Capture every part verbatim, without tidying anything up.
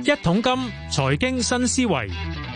一桶金財經新思維，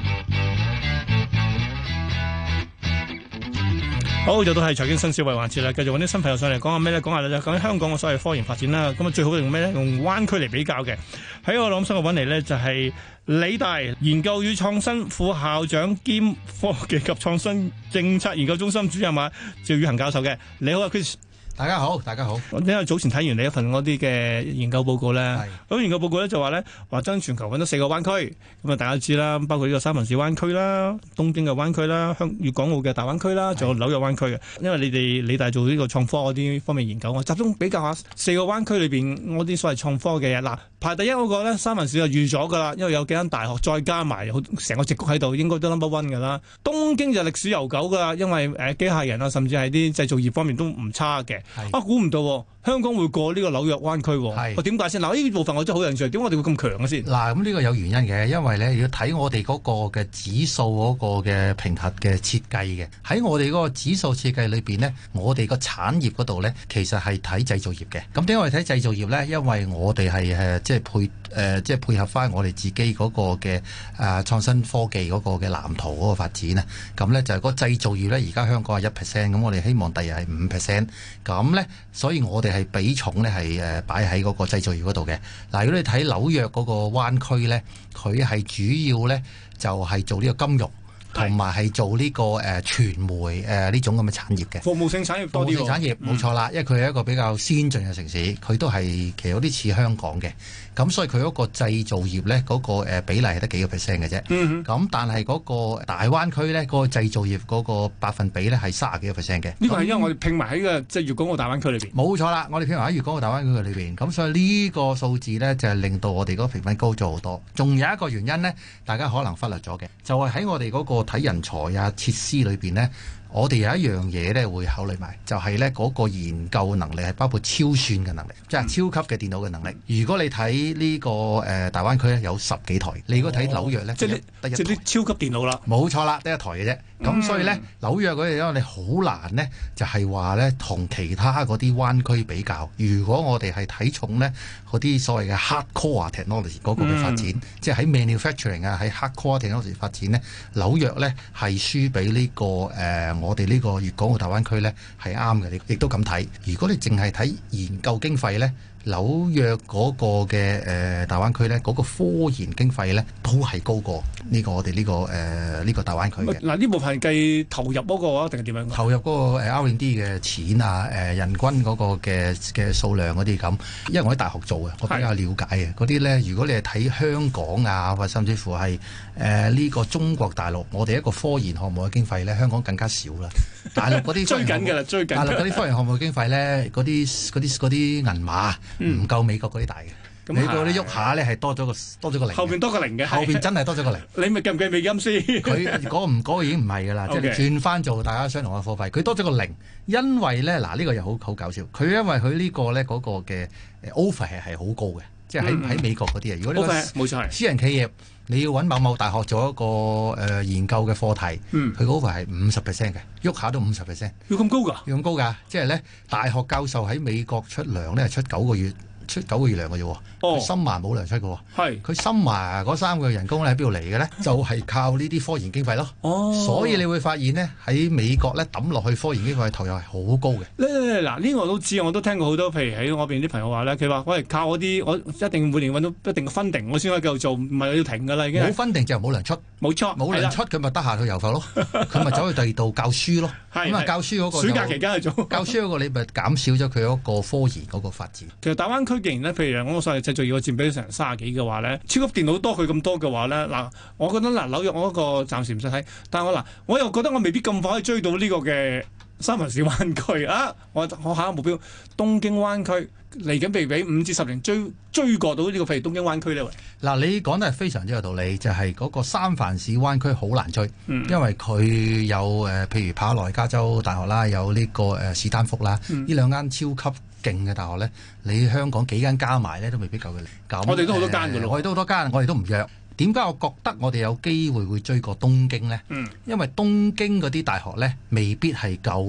好，就到係財經新思維環節啦。繼續揾啲新朋友上嚟講下咩咧？講下咧，講緊香港嘅所謂科研發展啦。咁啊，最好用咩咧？用灣區嚟比較嘅。喺我諗新嘅揾嚟咧，就係理大研究與創新副校長兼科技及創新政策研究中心主任啊，趙宇恒教授嘅。你好啊 Chris。 大家好，大家好。 我因為早前睇完你一份嗰啲嘅研究報告咧，咁研究報告咧就話咧，話將全球揾到四個灣區，咁啊大家知啦，包括呢個三藩市灣區啦、東京嘅灣區啦、香粵港澳嘅大灣區啦，仲有紐約灣區嘅。因為你哋理大做呢個創科嗰啲方面研究，我集中比較下四個灣區裏邊嗰啲所謂創科嘅嘢。嗱，排第一嗰個咧，三藩市就預咗噶啦，因為有幾間大學再加埋成個矽谷喺度，應該都 number one 噶啦。東京就歷史悠久噶啦，因為誒機械人啊，甚至係啲製造業方面都唔差嘅。啊，估唔到香港會過呢個紐約灣區。係，我點解先？嗱，呢部分我真係好有興趣，點解我哋會咁強嘅先？ 嗱，咁呢個有原因嘅，因為咧要睇我哋嗰個嘅指數嗰個嘅評核嘅設計嘅。喺我哋嗰個指數設計裏邊呢，我哋個產業嗰度呢，其實係睇製造業嘅。咁點解我哋睇製造業呢？因為我哋係誒即係配誒、呃、即係配合翻我哋自己嗰個嘅誒創新科技嗰個嘅藍圖嗰個發展啊。咁呢就係個製造業呢，而家香港係一 percent， 咁我哋希望第日係五 percent。咁呢，所以我哋係比重呢係誒擺喺嗰個製造業嗰度嘅。嗱，如果你睇紐約嗰個灣區呢，佢係主要呢就係做呢個金融，同埋係做呢個誒傳媒誒呢種咁嘅產業嘅。 服務性產業多啲喎。 服務性產業冇錯啦，因為佢係一個比較先進嘅城市，佢都係其實有啲似香港嘅。咁所以佢嗰個製造業呢，嗰個誒比例係得幾個 percent 嘅啫。嗯哼。咁但係嗰個大灣區呢，嗰個製造業嗰個百分比呢係三十幾個 percent 嘅。 呢個係因為我哋拼埋喺個即係粵港澳大灣區裏邊。冇錯啦，我哋拼埋喺粵港澳大灣區嘅裏邊。咁所以呢個數字呢，就係令到我哋嗰個評分高咗好多。仲有一個原因呢，大家可能忽略咗嘅，就係喺我哋嗰個睇人才啊設施裏邊呢。我哋有一樣嘢咧會考慮埋，就係咧嗰個研究能力係包括超算嘅能力，即係超級嘅電腦嘅能力。如果你睇呢個誒大灣區咧有十幾台，你如果睇紐約咧，即係得一台，即係啲超級電腦啦。冇錯啦，得一台嘅啫。咁、嗯、所以咧紐約嗰啲因為你好難呢，就係話咧同其他嗰啲灣區比較。如果我哋係睇重呢嗰啲所謂嘅 hardcore technology 嗰個嘅發展，嗯、即係喺 manufacturing 啊喺 hardcore technology 發展呢，紐約咧係輸俾呢、這個誒。呃我哋呢個粵港澳大灣區呢係啱嘅，亦都咁睇。如果你淨係睇研究經費呢，紐約嗰個嘅誒、呃、大灣區呢，嗰、嗰個科研經費呢都係高過呢個我哋呢、呢個誒呢、呃呢個大灣區嘅。嗱，呢部分係計投入嗰個啊，定係點樣？投入嗰個 R and D 嘅錢啊，誒、呃、人均嗰個嘅嘅數量嗰啲咁。因為我喺大學做嘅，我比較了解嘅嗰啲呢。如果你係睇香港啊，或甚至乎係誒呢個中國大陸，我哋一個科研項目嘅經費呢，香港更加少啦。大陸嗰啲追緊㗎啦，追緊。大陸嗰啲科研項目嘅經費呢，嗰啲嗰啲嗰啲銀碼唔夠美國嗰啲大嘅。嗯、美國啲喐下呢係多咗個多咗個零。後邊多個零嘅。後邊真係多咗個零。你咪計唔計美金先？佢嗰唔嗰個已經唔係㗎啦，即係轉翻做大家相同嘅貨幣，佢多咗個零。因為呢，嗱呢、呢個又好好搞笑，佢因為佢呢個呢嗰、嗰個嘅 offer 係係好高嘅。即係喺喺美國嗰啲啊，如果呢個私人企業你要揾某某大學做一個誒、呃、研究嘅課題，佢嗰個係五十 percent 嘅，喐下都五十 percent，要咁高㗎？要咁高㗎？即係咧，大學教授喺美國出糧咧係出九個月。出九個月糧嘅啫喎，佢深華冇糧出嘅喎，係佢深華嗰三個月人工咧喺邊度嚟嘅咧？就係、是、靠呢啲科研經費咯。哦，所以你會發現呢，喺美國咧抌落去科研經費投入係好高嘅。嗱呢、 呢個我都知，我都聽過好多，譬如喺我邊啲朋友話咧，佢話我係靠嗰啲，我一定每年揾到一定嘅分定，我先可以繼續做，唔係要停㗎啦已經。冇分定就冇糧出，冇錯，冇糧出佢咪得閒去遊埠咯，佢咪走去第二度教書咯。咁啊教書嗰個暑假期間去做，教書嗰個你咪減少咗佢嗰個科研嗰個發展。其實大灣區既然咧，譬如我所謂製造業嘅佔比成三十幾嘅話咧，超級電腦多佢咁多嘅話咧，嗱，我覺得嗱紐約我嗰個暫時唔使睇，但係我嗱我又覺得我未必咁快可以追到呢個嘅三藩市灣區啊！我我下一個目標東京灣區嚟緊，被俾五至十年追追過到呢個譬如東京灣區呢？喂，嗱，你講得係非常之有道理，就係、是、嗰個三藩市灣區好難追，嗯、因為佢有誒、呃，譬如帕羅來加州大學啦，有呢、這個誒、呃、史丹福啦，呢、嗯、兩間超級勁嘅大學咧，你香港幾間加埋咧都未必夠佢嚟。我哋都好多間㗎咯，我哋都好多間，我哋都唔弱。點解我覺得我哋有機會會追過東京呢？嗯、因為東京嗰啲大學呢，未必係夠呢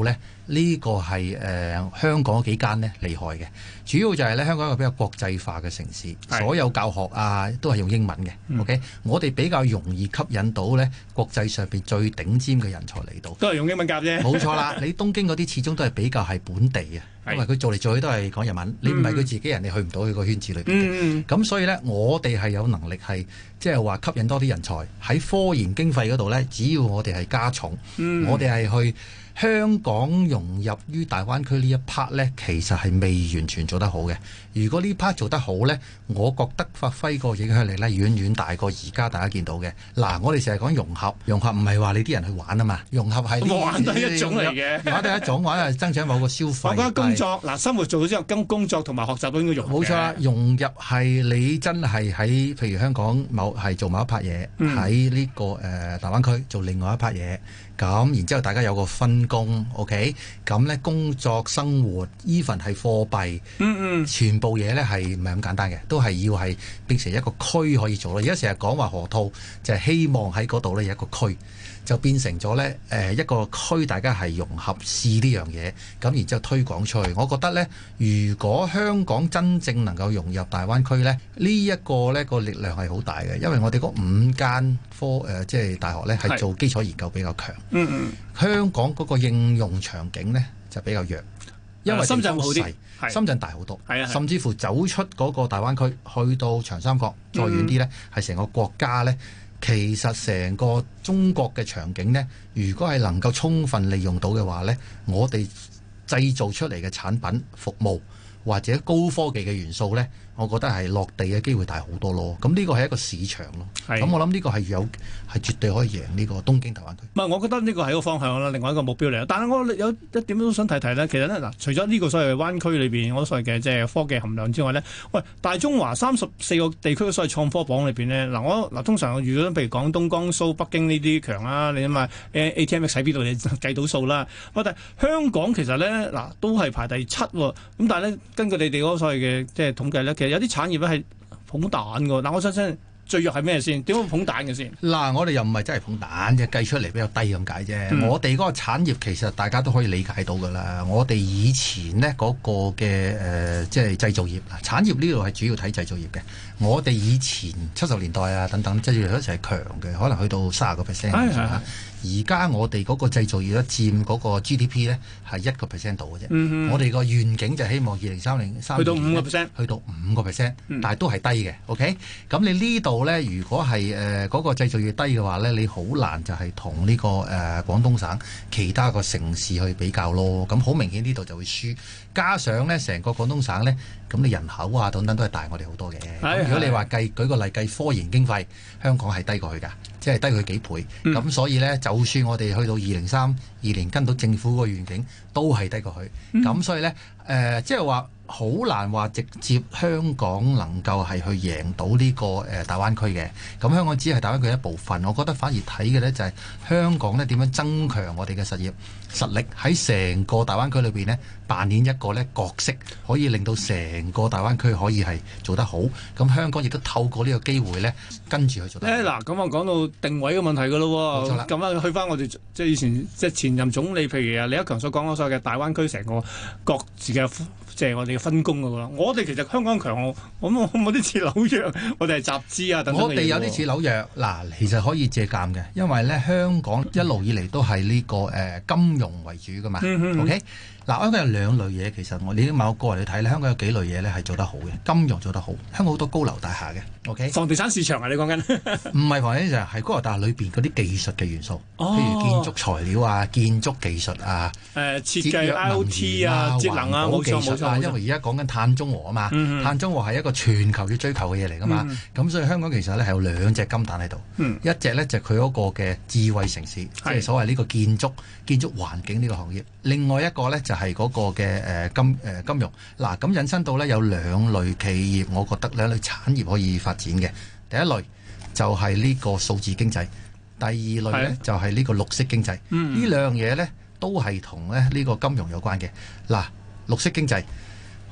呢、這個係誒、呃、香港幾間呢厲害嘅，主要就係咧香港一個比較國際化嘅城市，所有教學啊都係用英文嘅。嗯、OK，我哋比較容易吸引到咧國際上邊最頂尖嘅人才嚟到， 都係用英文教啫。 冇錯啦，你東京嗰啲始終都係比較係本地啊，因為佢做嚟做去都係講日文，你唔係佢自己人，你去唔到佢個圈子裏邊嘅。咁、嗯、所以咧，我哋係有能力係即係話吸引多啲人才喺科研經費嗰度咧，只要我哋係加重，嗯、我哋係去。香港融入於大灣區呢一 part 呢，其實係未完全做得好嘅。如果呢 part 做得好呢，我覺得發揮個影響力呢，遠遠大過而家大家見到嘅。嗱，我哋成日講融合，融合唔係話你啲人去玩啊嘛，融合係玩都係一種嚟嘅， 玩都係一種，玩係增長某個消費。 我覺得工作嗱，生活做咗之後，跟工作同埋學習都應該融合。 冇錯啦，融入係你真係喺譬如香港某係做某一 part 嘢，喺呢、這個誒、呃、大灣區做另外一 part 嘢。咁，然之後大家有個分工 ，OK，咁呢工作生活 even 係貨幣，嗯嗯，全部嘢呢係唔係咁簡單嘅，都係要係變成一個區可以做咯。而家成日講話河套，就係、是、希望喺嗰度呢有一個區，就變成咗呢誒、呃、一個區，大家係融合試呢樣嘢，咁然之後推廣出去。我覺得呢，如果香港真正能夠融入大灣區呢，呢、這、一個呢個力量係好大嘅，因為我哋嗰五間科誒、呃、即係大學呢係做基礎研究比較強。嗯嗯，香港嗰個應用場景呢就比較弱，因為深圳好啲， 深圳大好多，甚至乎走出嗰個大灣區，去到長三角，再遠啲呢，係成、嗯、個國家呢。其實成個中國嘅場景呢，如果係能夠充分利用到嘅話呢，我哋製造出嚟嘅產品、服務或者高科技嘅元素呢，我覺得係落地嘅機會大好多咯。咁呢個係一個市場咯。咁我諗呢個係有係絕對可以贏呢個東京大灣區。 唔係，我覺得呢個係一個方向啦，另外一個目標嚟。但係我有一點都想提提呢。其實呢，嗱，除咗呢個所謂灣區裏邊我所謂嘅即係科技含量之外呢，喂，大中華三十四個地區嘅所謂創科榜裏邊呢，嗱我嗱通常遇到譬如廣東、江蘇、北京呢啲強啦，你諗下 A T M X 喺邊度你計到數啦。喂，但係香港其實呢，嗱都係排第七喎。咁但係呢，根據你哋嗰個所謂嘅即係統計呢，其實有啲產業咧係捧蛋㗎。嗱，我想想最弱係咩先？點樣捧蛋嘅先？ 嗱，我哋又唔係真係捧蛋嘅，計出嚟比較低咁解啫。嗯、我哋嗰個產業其實大家都可以理解到㗎啦。我哋以前呢嗰、嗰個嘅誒、呃，即係製造業嗱，產業呢度係主要睇製造業嘅。我哋以前七十年代啊等等，製造業一齊係強嘅，可能去到三十個 percent。而家我哋嗰個製造業咧佔嗰個 G D P 咧係一個 percent 度嘅啫。嗯、我哋個願景就希望二零三零三去到五個 percent， 去到五個 percent，但係都係低嘅。OK，咁你呢度咧，如果係誒嗰個製造業低嘅話咧，你好難就係同呢個誒、呃、廣東省其他個城市去比較咯。咁好明顯呢度就會輸。加上咧，成個廣東省咧，咁你人口啊等等都係大我哋好多嘅。如果你話計舉個例計科研經費，香港係低過去㗎，即係低佢幾倍。咁、嗯、所以咧，就算我哋去到二零三二年跟到政府個願景，都係低過去。咁、嗯、所以咧，誒、呃，即係話好難話直接香港能夠係去贏到呢、這個誒、呃、大灣區嘅。咁香港只係大灣區一部分，我覺得反而睇嘅咧就係香港咧點樣增強我哋嘅實業實力喺成個大灣區裏邊呢，扮演一個咧角色，可以令到成個大灣區可以係做得好。咁香港亦都透過呢個機會咧，跟住去做得好。 嗱、欸，咁啊講到定位嘅問題㗎咯喎。冇錯啦。咁啊去翻我哋即係以前即係前任總理，譬如啊李克強所講嗰所謂嘅大灣區成個各自嘅即係我哋嘅分工㗎啦。我哋其實香港強，我我冇啲似紐約，我哋係集資啊等等。 我哋有啲似紐約嗱，其實可以借鑑嘅，因為咧香港一路以嚟都係呢、這個誒、呃、金融為主㗎嘛。嗯嗯 OK。嗱，香港有兩類嘢，其實我你某個人嚟睇咧，香港有幾類嘢咧係做得好嘅，金融做得好，香港好多高樓大廈嘅 ，OK？ 房地產市場啊，你講緊？ 唔係房地產市場，係高樓大廈裏邊嗰啲技術嘅元素，哦、譬如建築材料啊、建築技術啊、誒、 呃、設計 I O T 啊、節能啊、冇錯冇錯。 因為而家講緊碳中和啊嘛，嗯、碳中和係一個全球要追求嘅嘢嚟噶嘛，咁、嗯、所以香港其實咧係有兩隻金蛋喺度，嗯、一隻咧就佢、是、嗰個嘅智慧城市，即係是所謂呢個建築建築環境呢個行業，另外一個咧就係、是、嗰個嘅。誒金誒、呃、金融嗱，咁引申到咧有兩類企業，我覺得兩類產業可以發展嘅。第一類就係呢個數字經濟，第二類咧的就係呢個綠色經濟。嗯、呢兩樣嘢咧都係同咧呢個金融有關嘅。嗱，綠色經濟好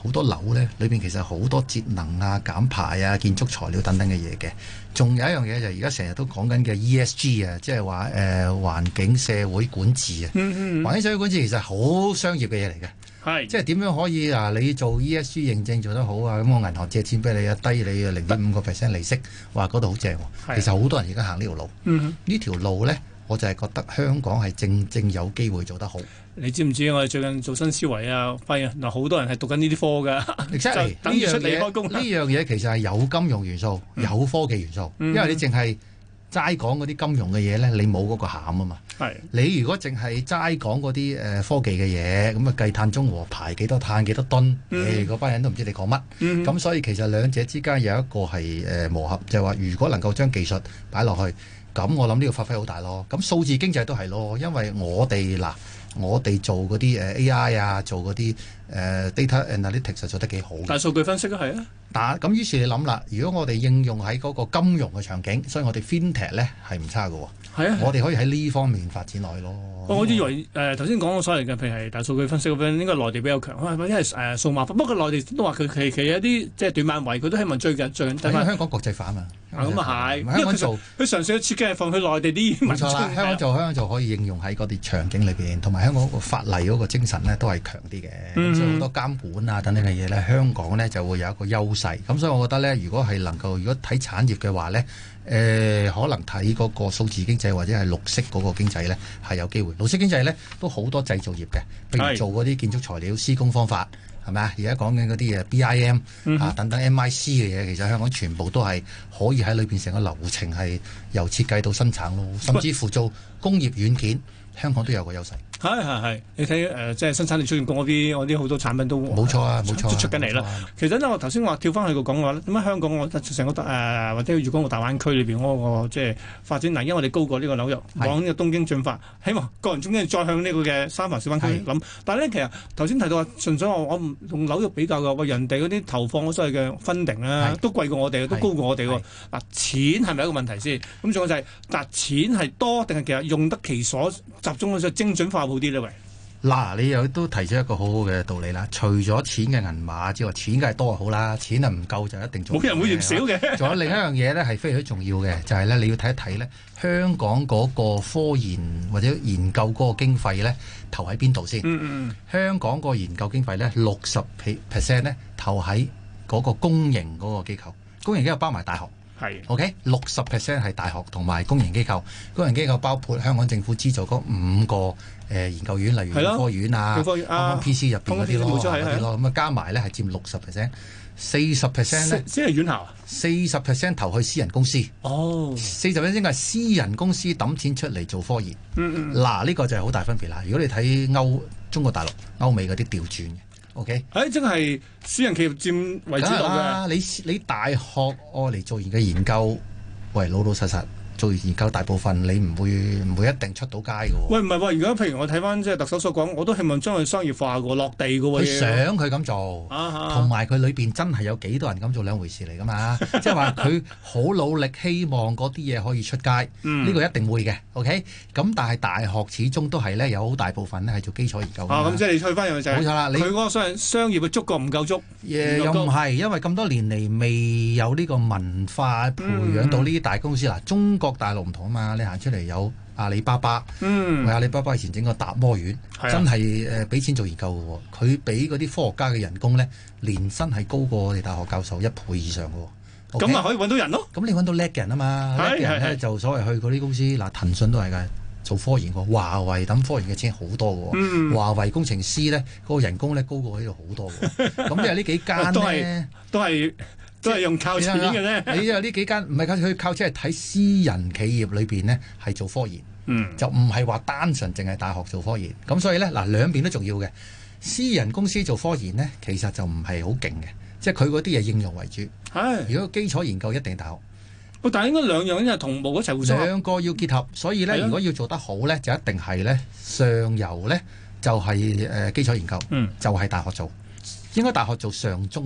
好多樓咧，裏邊其實好多節能啊、減排啊、建築材料等等嘅嘢嘅。仲有一樣嘢就係而家成日都講緊嘅 E S G 啊，即係話誒環境社會管治啊。嗯嗯環境社會管治其實係好商業嘅嘢嚟嘅。係，即係點樣可以啊？你做 E S G 認證做得好啊，咁我銀行借錢俾你啊，低你啊零點五個 percent 利息，哇嗰度好正喎。其實好多人而家行呢條路。嗯，呢條路咧，我就係覺得香港係正正有機會做得好。你知唔知我哋最近做新思維啊？發現嗱好多人係讀緊呢啲科㗎，就等住出嚟開工。呢樣嘢其實係有金融元素、嗯、有科技元素，嗯、因為你淨係齋講嗰啲金融嘅嘢咧，你冇嗰個餡啊嘛。係你如果淨係齋講嗰啲誒科技嘅嘢，咁啊計碳中和排幾多碳幾多噸，誒、嗯、嗰、欸、班人都唔知你講乜。咁、嗯、所以其實兩者之間有一個係誒、呃、磨合，就係、是、話如果能夠將技術擺落去，咁我諗呢個發揮好大咯。咁數字經濟都係咯，因為我哋嗱。我哋做嗰啲誒 A I 啊，做嗰啲誒 data analytics 做得幾好。大數據分析都係啊。但咁於是你諗啦，如果我哋應用喺嗰個金融嘅場景，所以我哋 FinTech 咧係唔差㗎喎。係啊，我哋可以喺呢方面發展落去咯。我以為誒頭先講嘅所謂嘅，譬如係大數據分析嗰邊，應該內地比較強，或者係誒數碼化。不過內地都話佢其其有啲即係短板位，佢都希望追緊追緊。因為香港國際化啊嘛。咁啊係，香港做佢嘗試嘅設計係放去內地啲。冇錯啦，香港做香港做可以應用喺嗰啲場景裏邊，同埋香港個法例嗰個精神咧都係強啲嘅。咁、嗯、所以好多監管啊等等嘅嘢咧，香港咧就會有一個優勢。咁所以我覺得咧，如果係能夠如果睇產業嘅話咧，誒、呃、可能睇嗰個數字經濟或者係綠色嗰個經濟咧係有機會。綠色經濟咧都好多製造業嘅，譬如做嗰啲建築材料施工方法。係咪啊？而家講緊嗰啲誒 B I M、嗯、啊等等 M I C 嘅嘢，其實香港全部都係可以喺裏邊成個流程係由設計到生產咯，甚至乎做工業軟件，香港都有個優勢。係係係，你睇誒、呃，即係生產力出現工嗰啲，我啲好多產品都冇錯啊，冇錯、啊，出緊嚟啦。其實呢，我頭先話跳翻去個講話咧，點解香港我成個誒、呃、或者粵港澳大灣區裏邊嗰個即係發展嗱，因為我哋高過呢個紐約，往呢個東京進發，希望個人中間再向呢個嘅三藩市灣區諗。但係咧，其實頭先提到話，純粹我我唔同紐約比較嘅，喂人哋嗰啲投放嗰所謂嘅 funding 咧，都貴過我哋，都高過我哋喎。嗱，錢係咪一個問題先？咁仲有就係、是，但錢係多定係其實用得其所，集中咗精準化好啲咧？喂！嗱，你又都提出一個好好嘅道理啦。除咗錢嘅銀碼之外，錢梗係多就好啦。錢啊唔夠就一定做。冇人會嫌少嘅。仲有另一樣嘢咧，係非常之重要嘅，就係、是、咧你要睇一睇咧，香港嗰個科研或者研究嗰個經費咧，投喺邊度先？嗯嗯。香港個研究經費咧，六十 percent 咧投喺嗰個公營嗰個機構，公營機構包埋大學。係。OK， 六十 percent 係大學同埋公營機構，公營機構包括香港政府資助嗰五個。誒、呃、研究院，例如科院啊，科院啊 P C 入邊嗰啲咯，啲咯，咁啊加埋咧係佔六十 percent， 四十 percent 咧，即係院校，四十 percent 投去私人公司。哦，四十 percent 應該係私人公司揼錢出嚟做科研。嗯嗯，嗱呢、這個就係好大分別啦。如果你睇歐中國大陸、歐美嗰啲調轉嘅 ，OK？誒、哎，即係私人企業佔為主導嘅。你你大學愛嚟做研嘅研究，喂老老實實。做研究大部分你唔會唔會一定出到街嘅喎。喂，唔係喎，而家譬如我睇翻即係特首所講，我都希望將佢商業化嘅落地嘅喎。佢想佢咁做，同埋佢裏邊真係有幾多人咁做兩回事嚟㗎嘛？即係話佢好努力，希望嗰啲嘢可以出街。呢、嗯、個一定會嘅。OK，咁但係大學始終都係咧有好大部分咧係做基礎研究。啊，咁即係你退翻入去就係冇錯啦。佢嗰個商商業嘅觸覺唔夠足。Yeah, 又唔係，因為咁多年嚟未有呢個文化培養到呢啲大公司嗱、嗯，中國大陸唔同啊嘛，你行出嚟有阿里巴巴，嗯，阿里巴巴以前整個達摩院，啊、真係誒俾錢做研究嘅喎，佢俾嗰啲科學家嘅人工咧，年薪係高過我哋大學教授一倍以上嘅喎，咁、okay? 咪可以揾到人咯，咁你揾到叻嘅人啊嘛，叻嘅人咧就所謂去嗰啲公司，嗱騰訊都係㗎。做科研喎，華為等科研嘅錢好多嘅喎、嗯，華為工程師咧嗰、嗰個人工咧高過喺度好多嘅，咁即係呢幾間都係都係都係用靠錢嘅啫。你因為呢幾間唔係靠佢靠錢，係睇私人企業裏邊咧係做科研，嗯、就唔係話單純淨係大學做科研。咁所以咧嗱兩邊都重要嘅。私人公司做科研咧，其實就唔係好勁嘅，即係佢嗰啲嘢應用為主。係如果基礎研究一定係大學。但係應該兩樣因為同步一齊互相兩個要結合，所以咧如果要做得好咧，就一定係咧上游咧就係、是、誒、呃、基礎研究，嗯，就係、是、大學做，應該大學做上中游，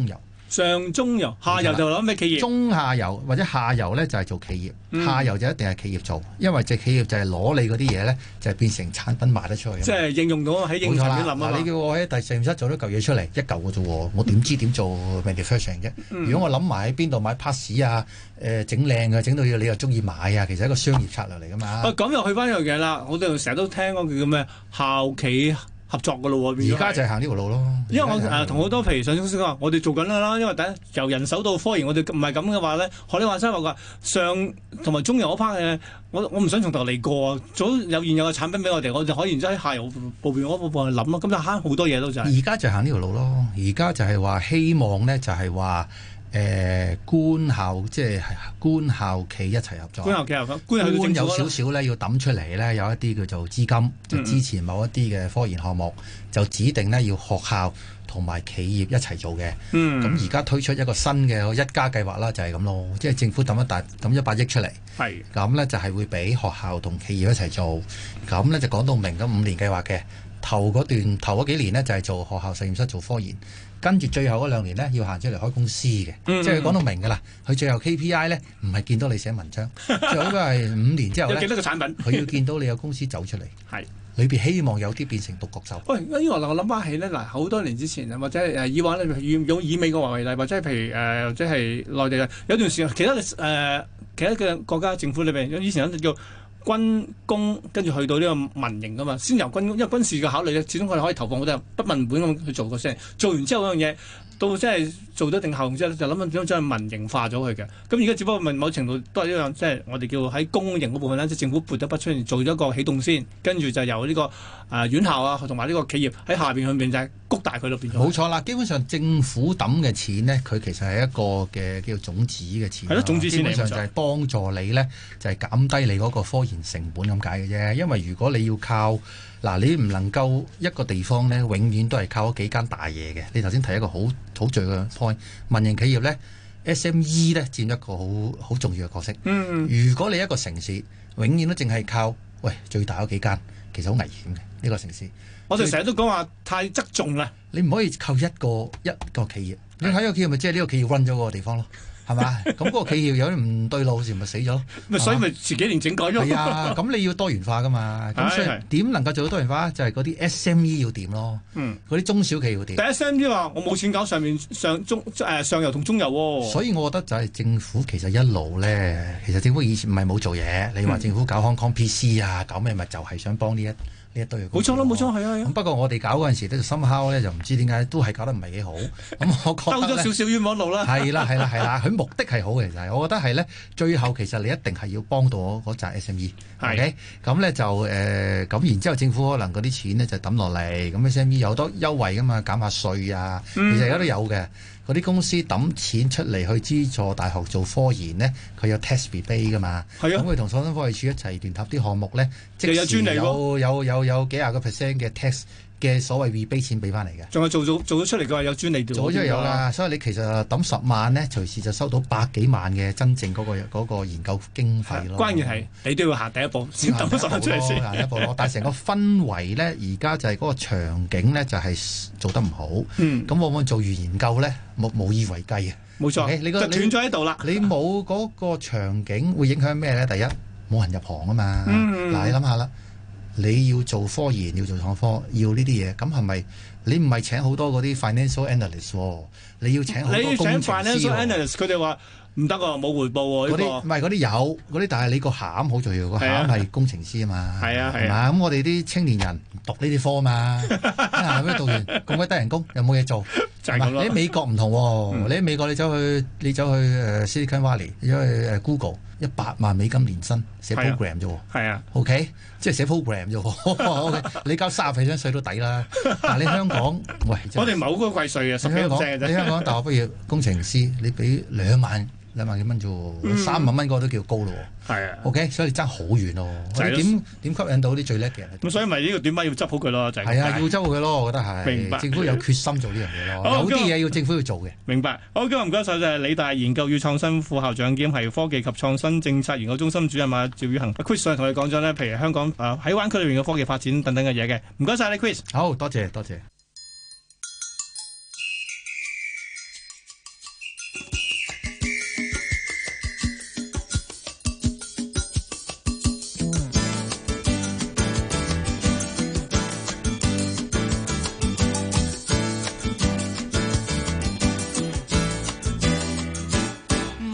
上中游，下游就諗咩企業？ 中下游或者下游咧就係、是、做企業，嗯、下游就一定係企業做，因為隻企業就係攞你嗰啲嘢咧，就係、是、變成產品賣得出去。 即係應用到喺應用層面諗啊！ 你叫我喺第實驗室做咗嚿嘢出嚟，一嚿嘅啫喎，我點知點做 manufacturing 啫？嗯、如果我諗埋喺邊度買 parts 啊，誒整靚嘅，整到你又中意買啊，其實係一個商業策略嚟㗎嘛。 啊，咁又去翻一樣嘢啦，我哋成日都聽嗰句叫咩校企合作嘅咯喎， 而家就係行呢條路咯。 因為我誒同好多譬如上市公司講，我哋做緊啦，因為第一由人手到科研，我哋唔係咁嘅話咧，學你話齋話上同埋中游嗰 part 嘅，我我唔想從頭嚟過啊，早有現有嘅產品俾我哋，我就可以然之後喺下游部邊嗰部分去諗咯，咁就慳好多嘢都就係。 而家就行呢條路咯，而家就係話希望咧，就係話。誒、呃、官校即係官校企一齊合作， 官校企合作，官， 官有少少咧要揼出嚟咧，有一啲叫做資金，就支持某一啲嘅科研項目，嗯、就指定咧要學校同埋企業一齊做嘅。咁而家推出一個新嘅一加計劃啦，就係、是、咁咯，即係政府揼一大揼一百億出嚟，係咁咧就係、是、會俾學校同企業一齊做，咁咧就講到明咁五年計劃嘅頭嗰段頭嗰幾年呢，就係、是、做學校實驗室做科研。跟住最後嗰兩年呢，要行出嚟開公司嘅，嗯、即係佢講到明㗎啦。佢最後 K P I 呢，唔係見到你寫文章，最後應該係五年之後呢， 有幾多個產品， 佢要見到你有公司走出嚟，係裏邊希望有啲變成獨角獸。 喂，呢個我諗翻起呢，嗱好多年之前或者誒以往咧，以用以美國為例，或者係譬如誒、呃，或者係內地嘅有段時間，其他嘅誒、呃、其他嘅國家政府裏邊，以前有叫軍工，跟住去到呢個民營噶嘛，先由軍工，因為軍事嘅考慮咧，始終佢哋可以投放好多人不文本咁去做個先，做完之後嗰樣嘢。到真係做咗定效用之後，就諗緊點樣將佢民營化咗佢嘅。咁而家只不過某程度都係一樣，即係我哋叫喺公營嗰部分咧，即係政府撥得筆出嚟做咗一個起動先，跟住就由呢、這個誒、呃、院校啊同埋呢個企業喺下邊去面就係谷大佢咯，變咗。 冇錯啦，基本上政府抌嘅錢呢，佢其實係一個嘅叫種子嘅錢。 係咯，種子錢嚟。基本上就係幫助你呢，就係、是、減低你嗰個科研成本咁解嘅啫。因為如果你要靠嗱，你唔能夠一個地方呢，永遠都係靠嗰幾間大嘢嘅。你頭先提一個好好重要嘅 point，民營企業呢 S M E 呢佔一個好好重要嘅角色。嗯，如果你一個城市永遠都淨係靠喂最大嗰幾間，其實好危險嘅呢、呢個城市。 我哋成日都講話太側重啦， 你唔可以靠一個一個企業。你睇個企業咪即係呢個企業 run 咗嗰個地方咯。係嘛？咁嗰個企業有啲唔對路時，咪死咗咯。 咪所以咪遲幾年整改咗。 係啊，咁你要多元化噶嘛？咁所以點能夠做到多元化？就係嗰啲 S M E 要掂咯。嗯，嗰啲中小企要掂。 但 S M E 話我冇錢搞上面上中誒、呃、上游同中游喎、哦。 所以我覺得就係政府其實一路咧，其實政府以前唔係冇做嘢。你話政府搞 Hong Kong P C 啊，搞咩咪就係想幫呢一。呢一堆冇錯啦，冇錯，係啊，係啊。 不過我哋搞嗰陣時咧，就深烤咧，就唔知點解都係搞得唔係幾好。咁我覺得兜咗少少冤枉路啦。 係啦，係啦，係啦，佢目的係好嘅，其實我覺得係咧，最後其實你一定係要幫到我嗰紮 S M E。係。OK，咁咧就誒，咁、呃、然之後政府可能嗰啲錢咧就抌落嚟，咁 S M E 有好多優惠噶嘛，減下稅啊，其實而家都有嘅。嗰啲公司抌錢出嚟去資助大學做科研呢，佢有 test rebate 噶嘛，咁佢同創新科技署一齊聯合啲項目呢，即時有有有有，有幾廿個 percent 嘅 test 嘅所謂 rebate 錢俾翻嚟嘅， 仲係做做做咗出嚟嘅話有專利做， 做咗有㗎，所以你其實抌十萬呢，隨時就收到百幾萬嘅真正嗰、嗰個嗰個研究經費咯。 關鍵係你都要行第一步，先抌十萬出嚟先。 行一步咯，但係成個氛圍呢，而家就係嗰個場景呢，就係做得唔好。咁、嗯、往往做完研究呢，冇無以為繼啊。 冇錯， okay? 你個就斷咗喺度啦。 你冇嗰個場景會影響咩呢？第一冇人入行啊嘛。嗱、嗯，你諗下啦。你要做科研，要做創科，要呢啲嘢，咁係咪你唔係請好多嗰啲 financial analyst、哦、你要請好多工程師、哦、你要請 financial analyst， 佢哋話唔得喎，冇回報喎。嗰啲唔係嗰啲有嗰啲，但係你個餡好重要，個餡係工程師啊嘛。係啊係嘛，咁我哋啲青年人讀呢啲科嘛，咁咩讀完咁鬼低人工，又冇嘢做，就係咁咯。你喺美國唔同喎、哦，嗯、你喺美國你走去你走去誒 Silicon Valley，你走去誒 Google。一百萬美金年薪寫 program 啫喎，係啊 ，OK，即係寫 program 啫喎，OK，你交三十 percent 稅都抵啦。但係你香港，喂， 我哋唔係好高貴稅啊，十幾 percent 嘅啫。 你香港大學畢業工程師，你俾兩萬兩萬幾蚊啫喎，三萬蚊嗰個都叫高咯喎。係啊 ，OK，所以你爭好遠咯。我哋點點吸引到啲最叻嘅人？ 咁所以咪呢個短板要執好佢咯，就係。係啊，要執好佢咯，我覺得係。明白。政府有決心做呢樣嘢咯，有啲嘢要政府要做嘅。 明白。好，今日唔該晒，就係理大研究與創新副校長兼係科技及創新政策研究中心主任啊趙宇恒 Chris 上同你講咗呢，譬如香港啊喺灣區裏面嘅科技發展等等嘅嘢嘅。唔該晒你 Chris。 好多謝多謝。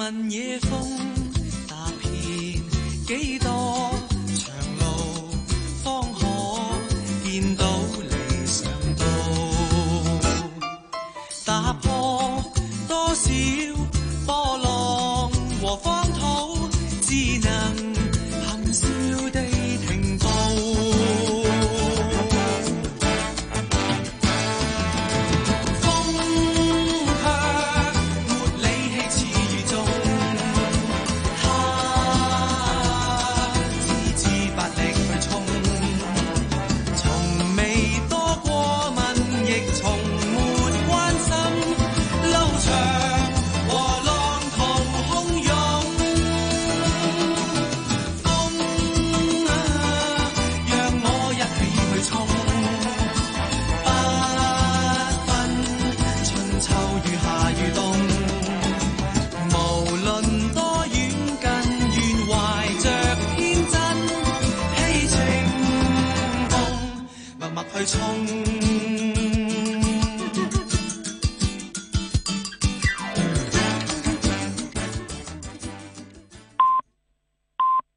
問野風。